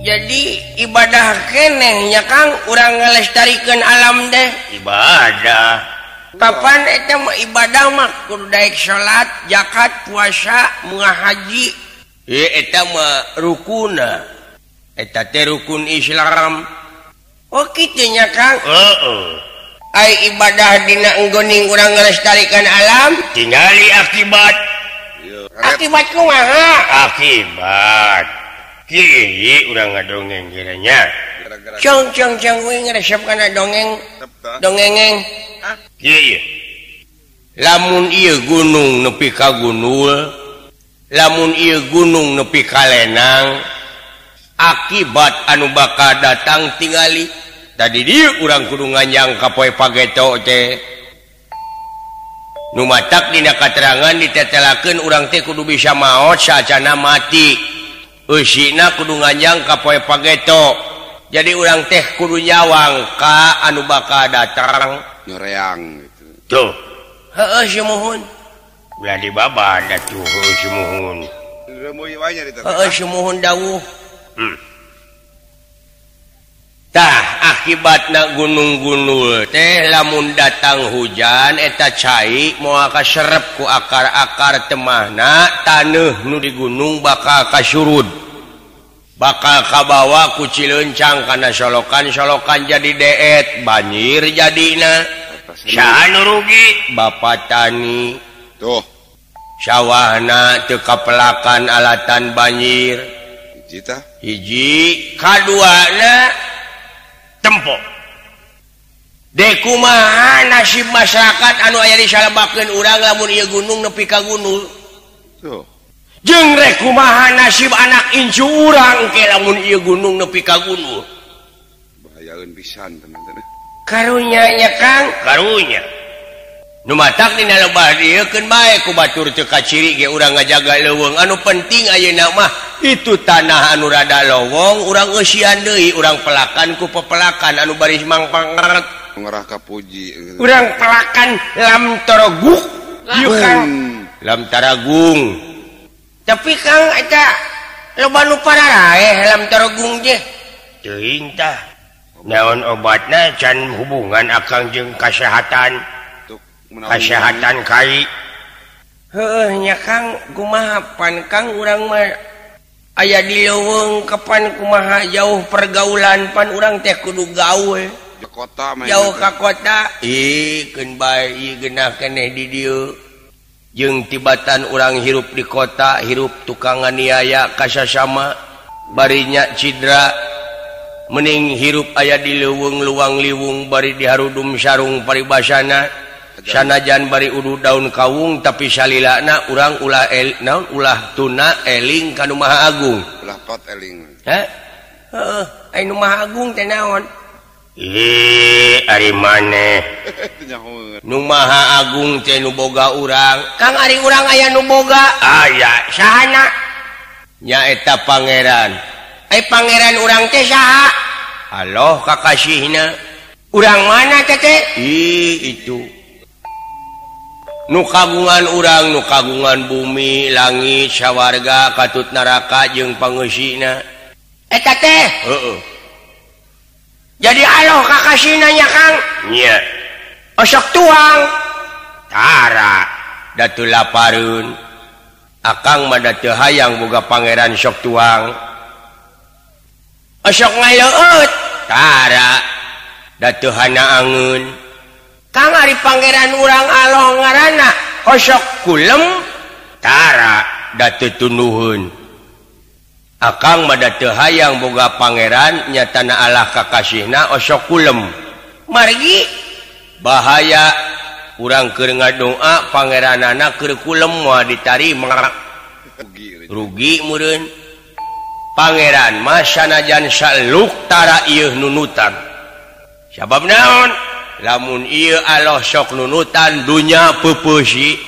jadi ibadah kenehnya Kang urang ngelestarikeun alam deh ibadah kapan eta mah ibadah mah kudu daek salat zakat puasa muah haji eta mah rukuna eta teh rukun Islam oh kitu nya Kang ai ibadah dina enggoning urang ngelestarikeun alam tingali akibat kumaha akibat kieu urang ngadongeng kiranya cong we ngeresep kana dongengeng kieu lamun ieu gunung nepi ka gunul lamun ieu gunung nepi ka lenang akibat anu bakal datang tingali tadi dieu urang kudu nganjang ka poe pageto teh nu matak dina katerangan ditetelakeun urang teh kudu bisa maot saacana mati eusina kudu nganjang ka poe pageto jadi urang teh kudu nyawang ka anu bakal datang nyoreang gitu tuh heeh sumuhun ulah dibabad atuh sumuhun heeh sumuhun dawuh tah akibatna gunung-gunul teh lamun datang hujan eta cai moal kaserep ku akar-akar temahna taneuh nu di gunung bakal kasurud bakal kabawa ku cileuncang kana solokan-solokan jadi deet banjir jadina saha nu rugi bapak tani tuh sawahna teu kapelakan alatan banjir hiji kaduana tempo dekumaha nasib masyarakat anu aya disalebakeun urang lamun ieu gunung nepi ka gunul tuh jeung rek kumaha nasib anak incu urang ke lamun ieu gunung nepi ka gunul bahayaeun pisan teman-teman karunya nya Kang karunya nu matak dina lebah diekeun bae ku batur teu kaciri ge urang ngajaga leuweung anu penting ayeuna mah itu tanah anu rada lowong urang eusian deui urang pelakan ku pepelakan anu bari mangpangaret ngarah ka puji urang pelakan lam toroguk ieu Kang lam taragung tapi Kang eta loba nu pararaeh lam taragung je teuing tah naon obatna can hubungan akang jeung kasehatan kasehatan kai heueuh nya Kang kumaha pan Kang urang mah aya di leuweung kapan kumaha jauh pergaulan pan urang teh kudu gawe di kota mah jauh ka kota keun bae ieu geunah keneh di dieu jeung tibatan urang hirup di kota hirup tukang nganiaya ka sasama bari nya cidra mending hirup aya di leuweung luang liwung bari diharudum sarung paribasana sanajan bari udu daun kawung tapi salilana urang ulah naon ulah tuna eling ka nu Maha Agung ulah tot eling heeh ai nu Maha Agung teh naon ari maneh nu Maha Agung teh nu boga urang Kang ari urang aya nu boga aya sahana nya eta pangeran ai pangeran urang teh saha haloh kakasihna urang mana teh itu nu kagungan urang nu kagungan bumi langit sawarga katut neraka jeung pangeusina eta teh heeh jadi aloh kakasihna nya Kang nya osok tuang tara datu lapareun akang mah da teu hayang boga pangeran sok tuang osok ngaleueut tara da teu hanaangeun Kang ari pangeran urang aloh ngaranna osok kulem tara da teu tunduheun akang mah da teu hayang boga pangeran nyatana Allah kakasihna osok kulem margi bahaya urang keur ngadoa pangeranana keur kulem moal ditarima rugi meureun pangeran mah sanajan saluk tara ieu nunutan sabab naon lamun ieu Allah sok nunutan dunya peupeusi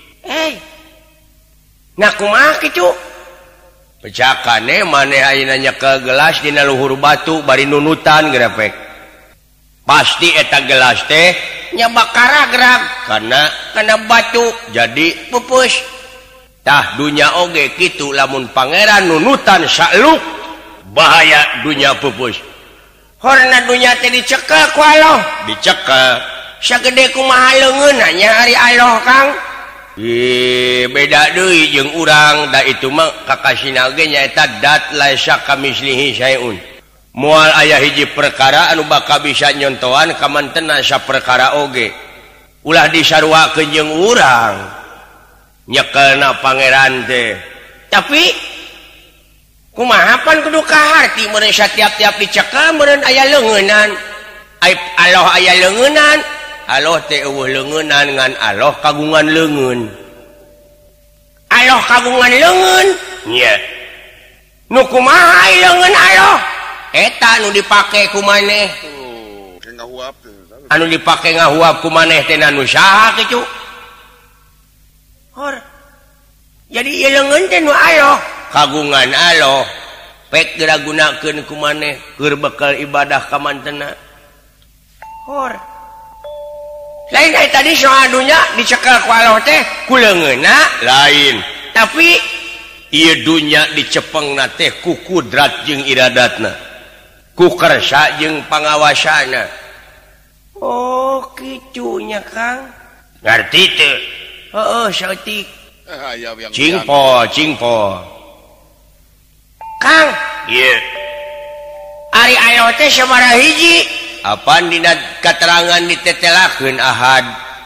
nah kumaha kitu pecakane maneh ayeuna nya ke gelas dina luhur batu bari nunutan grepek pasti eta gelas teh nya bakara gerag kana batu jadi pepeus tah dunya oge kitu lamun pangeran nunutan saluk bahaya dunia pupus horna dunia teh dicekel ku Allah dicekel sagede kumaha leungeun nya ari Allah Kang beda deui jeung urang da itu mah kakasina ge nyaeta dat laisa kamislihi syai'un moal aya hiji perkara anu bakal bisa nyontohan ka mantenna saperkara oge ulah disarwakeun jeung urang nyekelna pangeran teh tapi kumaha pan kudu kaharti meureun satiap-tiap dicekel meureun aya leungeunnan Allah aya leungeunnan Allah teh eueuh leungeunnan ngan Allah kagungan leungeun Allah kagungan leungeun nya nu kumaha leungeun Allah eta nu dipake ku maneh kayak ngahuap tuh. anu dipake ngahuap ku maneh teh nu saha kitu hor jadi ieu leungeun teh nu Allah kagungan Allah pek diragunakeun ku maneh keur bekal ibadah ka mantenna hor lain dari tadi soal dunia dicekel ku Allah teh ku leungeunna lain tapi ieu dunya dicepengna teh ku kudrat jeung iradatna ku kersa jeung pangawasana oh kitu nya Kang ngarti teu heueuh saeutik Aya yang cingpo Kang ieu ari Allah teh sabaraha hiji apaan dina keterangan ditetelakeun ahad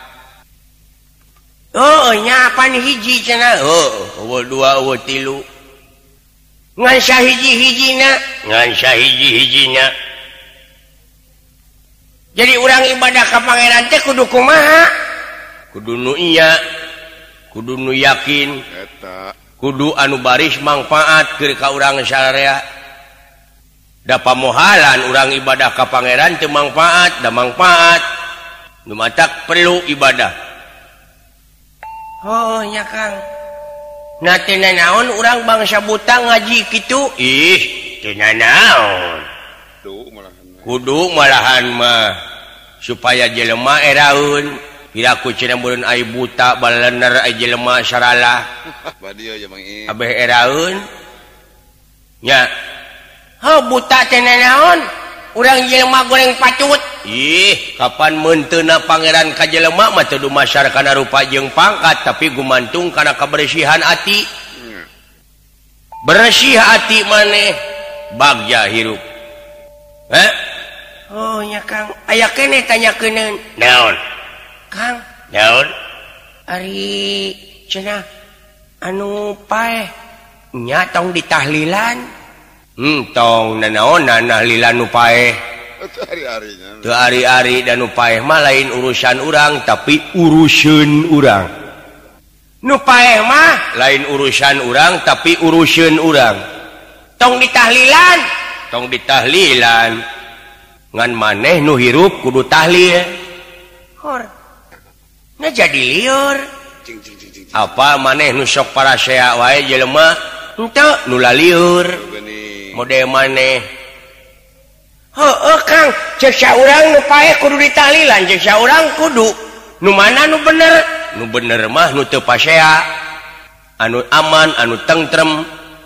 oh nya apaan hiji cenah eueuh dua eueuh tilu ngan sahiji-hijina ngan sahiji-hijina jadi urang ibadah ka pangeran teh kudu kumaha kudu nu iya kudu nu yakin eta kudu anu baris manfaat keur ka urang sararea da pamohalan urang ibadah ka pangeran teu manfaat da manfaat nu matak perlu ibadah oh nya Kang na teh naon urang bangsa buta ngaji kitu ih teu naon tuh malahan kudu malahan mah supaya jelema eraeun piraku cenah mun ai buta balener ai jelema saralah badieu ya Mang I abeh eraeun nya buta teh naon urang jelema goreng pacut ih kapan menteuna pangeran ka jelema mah teu dumasar kana rupa jeung pangkat tapi gumantung kana kabersihan ati bersih ati maneh bagja hirup oh nya Kang aya keneh tanyakeun naon Kang naon ari cenah anu paeh nya tong ditahlilan tong nanaonan nahlilan nu paeh hari-harinya teu ari-ari dan nu paeh mah lain urusan urang tapi uruseun urang nu paeh mah lain urusan urang tapi uruseun urang tong ditahlilan ngan maneh nu hirup kudu tahlil hor na jadi liur cing cing cing cing apa maneh nu sok parasea wae jelema henteu nu lalieur gini mode maneh heueuh Kang ceuk saurang nu paeh kudu ditahlilan ceuk saurang kudu nu mana nu bener mah nu teu pasea anu aman anu tentrem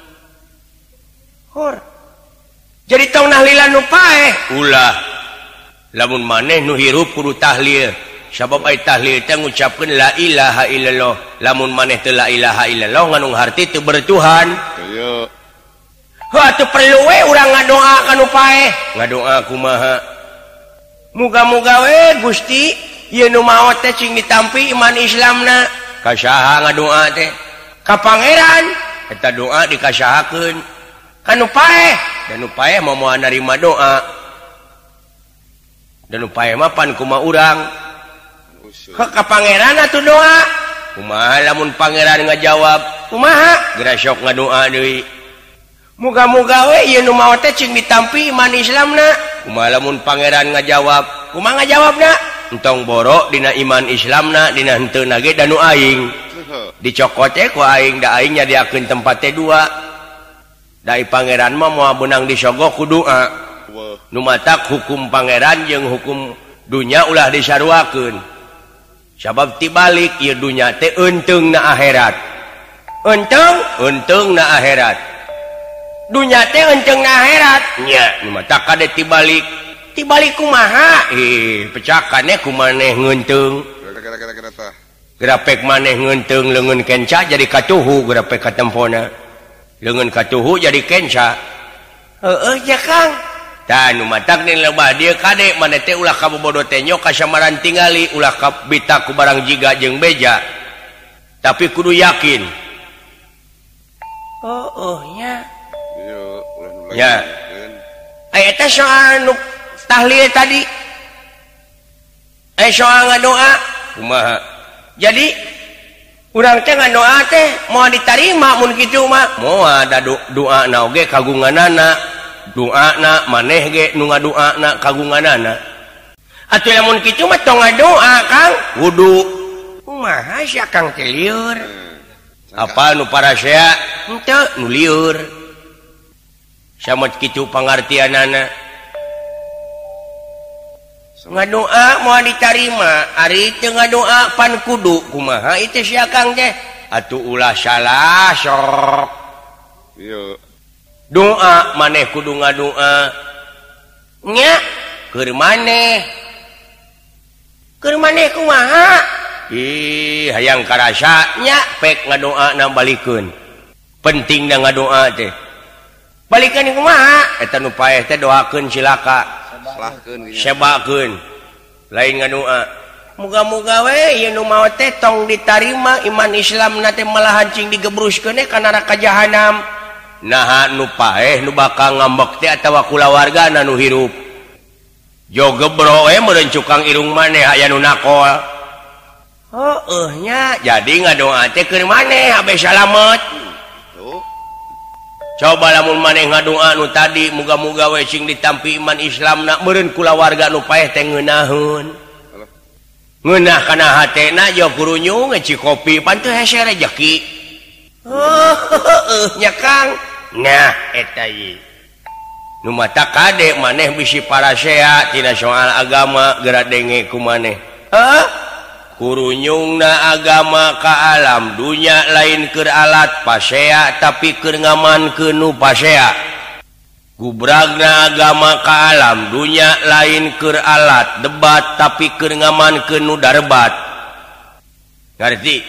hor jadi tong nahlilan nu paeh ulah lamun maneh nu hirup kudu tahlil sabab ai tahlil teh ngucapkeun la ilaha illallah lamun maneh teu la ilaha illallah nganu harti teu bertuhan kayak atuh perlu we urang ngadoa ka nu paeh ngadoa kumaha muga-muga we Gusti ieu nu maot teh cing ditampi iman Islamna ka saha ngadoa teh ka pangeran eta doa dikasahakeun ka nu paeh dan nu paeh moal narima doa dan nu paeh mah pan kumaha urang ka pangeran atuh doa kumaha lamun pangeran ngajawab kumaha geura sok ngadoa deui muga-muga we ieu nu maot teh cing ditampi iman Islamna kumaha lamun pangeran ngajawab kumaha ngajawabna entong borok dina iman Islamna dina henteu ge da nu aing dicokot ku aing da aing nyadiakeun tempat teh dua dai pangeran mah moal beunang disogok ku doa nu matak hukum pangeran jeung hukum dunya ulah disarwakeun sabab tibalik ieu dunya teh eunteungna akhirat untung na akhirat dunya teh enceng na akhirat nya nu mah tak kade tibalik kumaha pecakannya kumaneh ngeunteung Kira-kira tah. grapek maneh ngeunteung leungeun kenca jadi katuhu grapek katempona leungeun katuhu jadi kenca heueuh ya Kang tah nu matak nih lebah dieu kade maneh teh ulah kabobodo teh nyok kasamaran tingali ulah kabita ku barang jiga jeung beja tapi kudu yakin nya Iya, ulah nu Ya. lagi. eta soal nu tahlil tadi soal ngadoa kumaha jadi urang teh ngadoa teh moal ditarima mun kitu mah moal ada doa na oge kagunganana doana maneh ge nu ngadoana kagunganana atuh lamun kitu mah tong ngadoa Kang wudu kumaha sia Kang teh lieur apa nu parasea henteu nu lieur sama kitu pangartianana ngadoa moal ditarima ari teu ngadoa pan kudu kumaha itu sia Kang teh atuh ulah salah sok Iya. doa maneh kudu ngadoa nya keur maneh kumaha hayang karasa nya pek ngadoa na balikeun penting na ngadoa teh balikeun kumaha eta nu paeh teh doakeun cilaka Salahkeun gitu. sebakeun lain ngadoa muga-muga we ieu nu maot teh tong ditarima iman Islam na teh malahan cing digebruskeun ka neraka jahanam naha nu paeh nu bakal ngambek teh atawa kulawargana nu hirup jo gebro we meureun cukang irung maneh aya nu nakol nya jadi ngadoa teh keur maneh abe salamet Tuh. coba lamun maneh ngadoa nu tadi muga-muga we cing ditampi iman Islamna meureun kulawarga nu paeh teh ngeunaheun ngeunah kana hatena jo kurunyung ngeci kopi pan teu hese rejeki nya Kang nah eta ieu nu mata kade maneh bisi parasea tina soal agama geura denge ku maneh kurunyungna agama ka alam dunya lain keur alat pasea tapi keur ngamankeun nu pasea gubragna agama ka alam dunya lain keur alat debat tapi keur ngamankeun nu darebat ngarti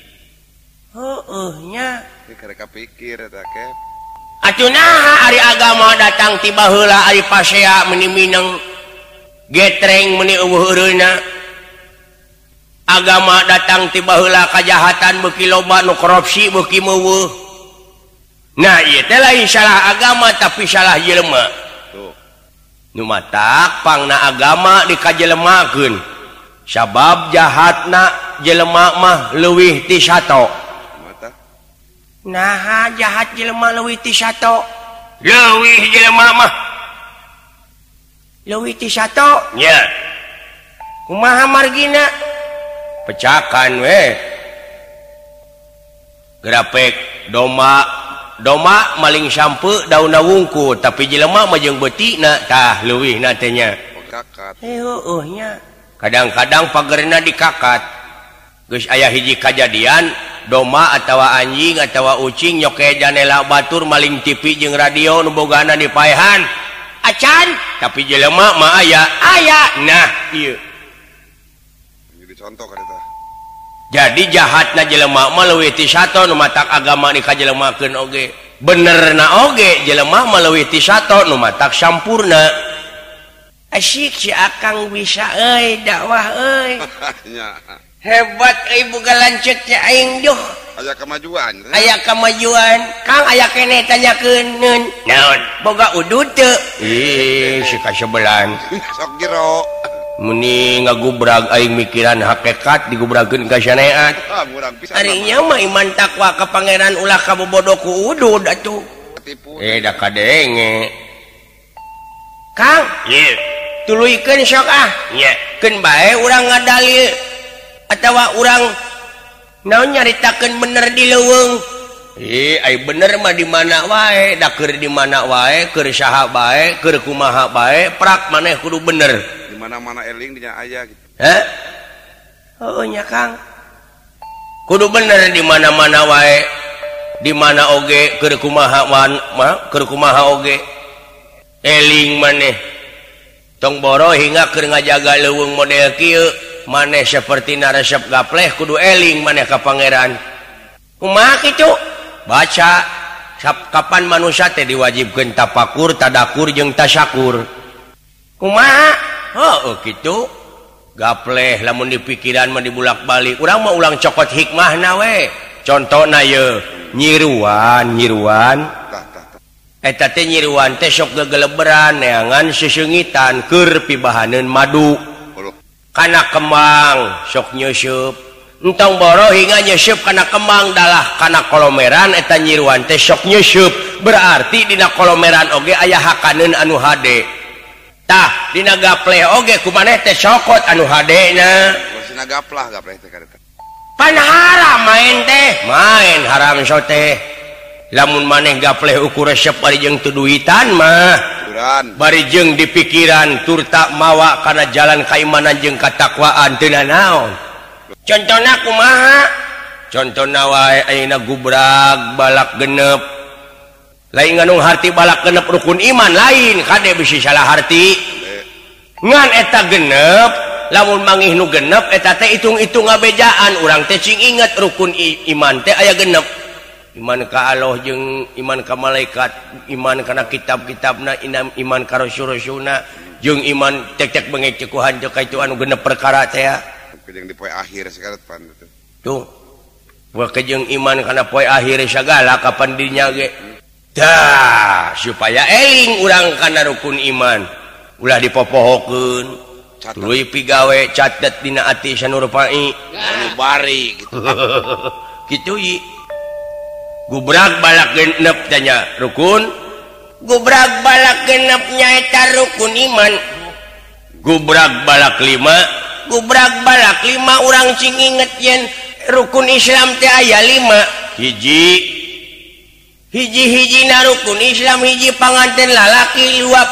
nya Karek kapikir eta Kep. atuh naha ari agama datang tiba heula ari pasea meuni mineng getreng meuni eueuh eureuna agama datang tiba heula kajahatan beuki loba nu korupsi beuki meuweuh nah ieu teh lain salah agama tapi salah jelema Tuh. nu matak pangna agama dikajelemakeun sabab jahatna jelema mah leuwih ti sato Mata. nah jahat jelema leuwih ti sato leuwih jelema mah leuwih ti sato nya kumaha margina pecakan we grapek doma maling sampe daunna wungkul tapi jelema mah jeung beutina tah leuwihna teh nya Kakat. nya kadang-kadang pagerna dikakat geus aya hiji kajadian doma atawa anjing atawa ucing nyoke janela batur maling TV jeung radio nu bogana dipaehan acan tapi jelema mah aya nah ieu Jadi contoh kan eta. jadi jahatna jelema mah leuwih ti sato nu matak agama dikajelemakeun oge benerna oge jelema mah leuwih ti sato nu matak sampurna asyik si akang bisa euy dakwah euy Nya. hebat euy boga lanceuk teh aing duh Aya kemajuan. aya kamajuan Kang aya keneh tanyakeun naon boga udud teu si kasebelan Sok jero. muni ngagubrag aing mikiran hakikat digubragkeun ka syariat Murang pisan. ari nya mah iman takwa ka pangeran ulah kabobodo ku udud atuh Tipu. da kadenge Kang ye tuluykeun sok nya keun bae urang ngadalil atawa urang naon nyaritakeun bener di leuweung ai bener mah di mana wae da keur di mana wae keur saha bae keur kumaha bae prak maneh kudu bener Di mana-mana eling dinya aya gitu. nya Kang kudu bener di mana-mana wae di mana oge keur kumaha oge eling maneh tong boro hingga keur ngajaga leuweung model kieu maneh sapertina resep gapleh kudu eling maneh ka pangeran kumaha kitu baca kapan manusia teh diwajibkeun tafakur tadakur jeung tasyakur kumaha heuh kitu gapleh lamun di pikiran mah dibulak-balik urang mah ulang cokot hikmahna we contohna ye nyiruan eta teh nyiruan teh sok gegeleberan neangan seseungitan keur pibahaneun madu kana kembang sok nyeusup entong boro hingga nyeusup kana kembang dalah kana kolomeran eta nyiruan teh sok nyeusup berarti dina kolomeran oge aya hakaneun anu hade tah dina gapleh oge kumaneh teh sokot anu hadena Masina gapleh teh kareta pan haram main haram teh lamun maneh gapleh ukur resep bari jeung tu duitan mah bari jeung di pikiran tur tak mawa kana jalan kaimanan jeung katakwaan teu naon contona kumaha contona wae ayeuna gubrag balak genep lain nganung harti balak genep rukun iman lain kade bisi salah harti ngan eta genep lamun mangih nu genep eta teh itung-itung ngabejaan urang teh cing inget rukun iman teh aya genep iman ka Allah jeung iman ka malaikat iman kana kitab-kitabna iman ka rasul-rasulna jeung iman tek-tek bengek cekuhan teh kaitu anu genep perkara teh jeung di poe akhir segala pan tuh wa jeung iman kana poe akhir sagala kapan dirinya ge dah supaya eling urang kana rukun iman ulah dipopohokeun tuluy pigawe catet dina ati sanur pai anu bari gitu kitu ieu gubrag balak genep tanya rukun gubrag balak genep nyaeta rukun iman gubrag balak 5 urang cing inget yen rukun Islam teh aya 5 hiji-hijina rukun Islam hiji panganten lalaki luap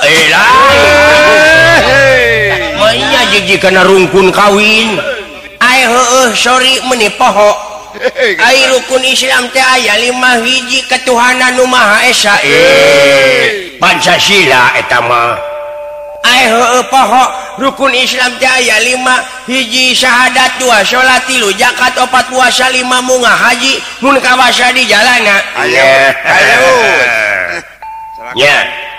manya jiji kana rungkun kawin ai heueuh sorry meuni poho ai rukun Islam teh aya 5 hiji ketuhanan nu Maha Esa Pancasila eta mah ai heueuh poho rukun Islam teh aya 5 hiji syahadat 2 salat 3 zakat 4 puasa 5 munggah haji mun kawasa di jalana ayo nya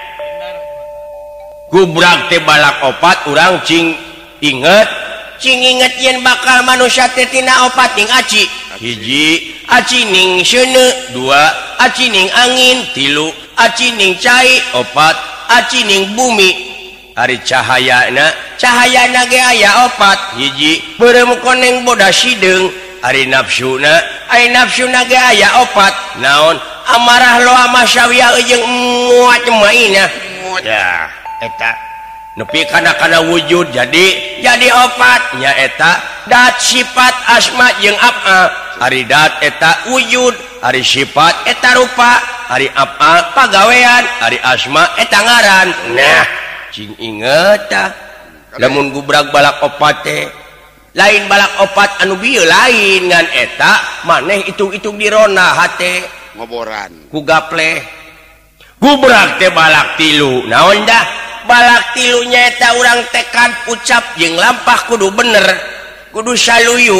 gubrag teh balak 4 urang cing inget yen bakal manusia teh tina 4 ning aci hiji aci ning seuneu 2 aci ning angin 3 aci ning cai 4 aci ning bumi ari cahayana ge aya 4 hiji beureum koneng bodas sideung ari nafsuna ge aya 4 naon amarah loa masyawiyah jeung muat maina ya eta nepi kana wujud jadi 4 nya eta dat sifat asma jeung af'al ari dat eta wujud ari sifat eta rupa ari af'al pagawean ari asma eta ngaran nah cing inget tah lamun gubrag balak 4 teh lain balak 4 anu bieu lain ngan eta maneh itung-itung dirona hate ngoboran ku gapleh gubrag teh balak 3 naon dah balak 3 nya eta urang tekad ucap jeung lampah kudu bener kudu saluyu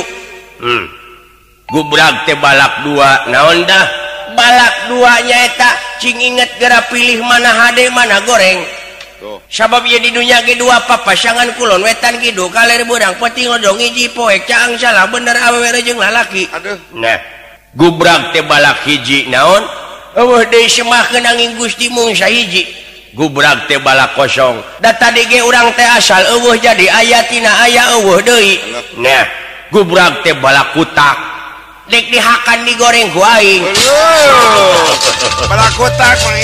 gubrag teh balak 2 naon dah balak 2 nya eta cing inget gara pilih mana hade mana goreng sabab ieu di dunya ge 2 papasangan kulon wetan kidu kaler beurang penting lodong hiji poek caang salah bener awewe jeung lalaki aduh nah gubrag teh balak hiji naon eueuh deui semahkeun angin Gusti mung sahiji gubrag teh balak 0 da tadi ge urang teh asal eueuh jadi aya tina aya eueuh deui nah gubrag teh balak kutak dek dihakan digoreng ku aing balak kutak mah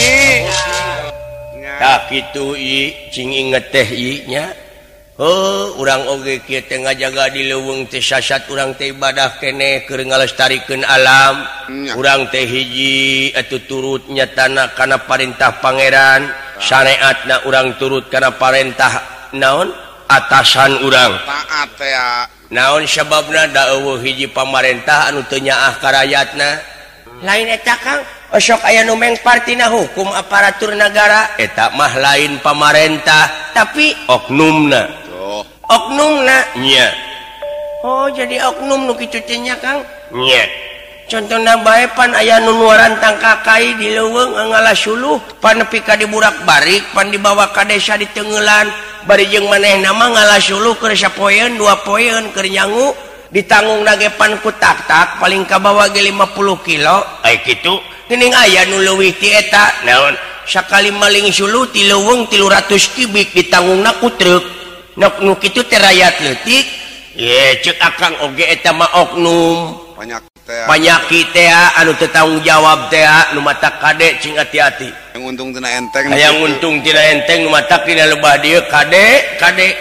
tak kitu cing inget teh nya urang oge kieu teh ngajaga di leuweung teh sasat urang teh ibadah keneh keur ngalestarikeun alam urang teh hiji atuh turut nyatana kana parentah pangeran syariatna urang turut kana parentah naon atasan urang taat teh ya naon sababna da eueuh hiji pamarentah anu teu nyaah ka rakyatna lain eta Kang sok aya nu mengpartina hukum aparatur negara eta mah lain pamarentah tapi oknumna oknumna nya oh jadi oknum nu kitu teh nya Kang nya contohna bae pan aya nu nuaran tangkakai di leuweung ngalas suluh pan nepi ka diburak-barik pan dibawa ka desa di Teungelan bari jeung manehna mah ngalas suluh keur sapoeun 2 poeun keur nyangu ditanggung nage pan ku tak-tak paling kabawa ge 50 kilo ai kitu geuning aya nu leuwih ti eta naon sakali maling suluh ti leuweung 300 kubik ditanggungna ku truk nu kitu teh rakyat leutik ye ceuk akang oge eta mah oknum Panyakit teh anu teu tanggung jawab teh nu matak kade cing hati-hati yang untung tina enteng aya untung tina enteng nu matak dina lebah dieu kade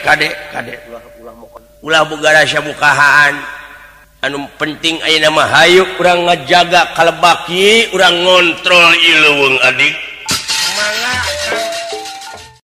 ulah boga rasa bukahaan anu penting ayeuna mah hayu urang ngajaga kalebak ieu urang ngontrol ieu leuweung adik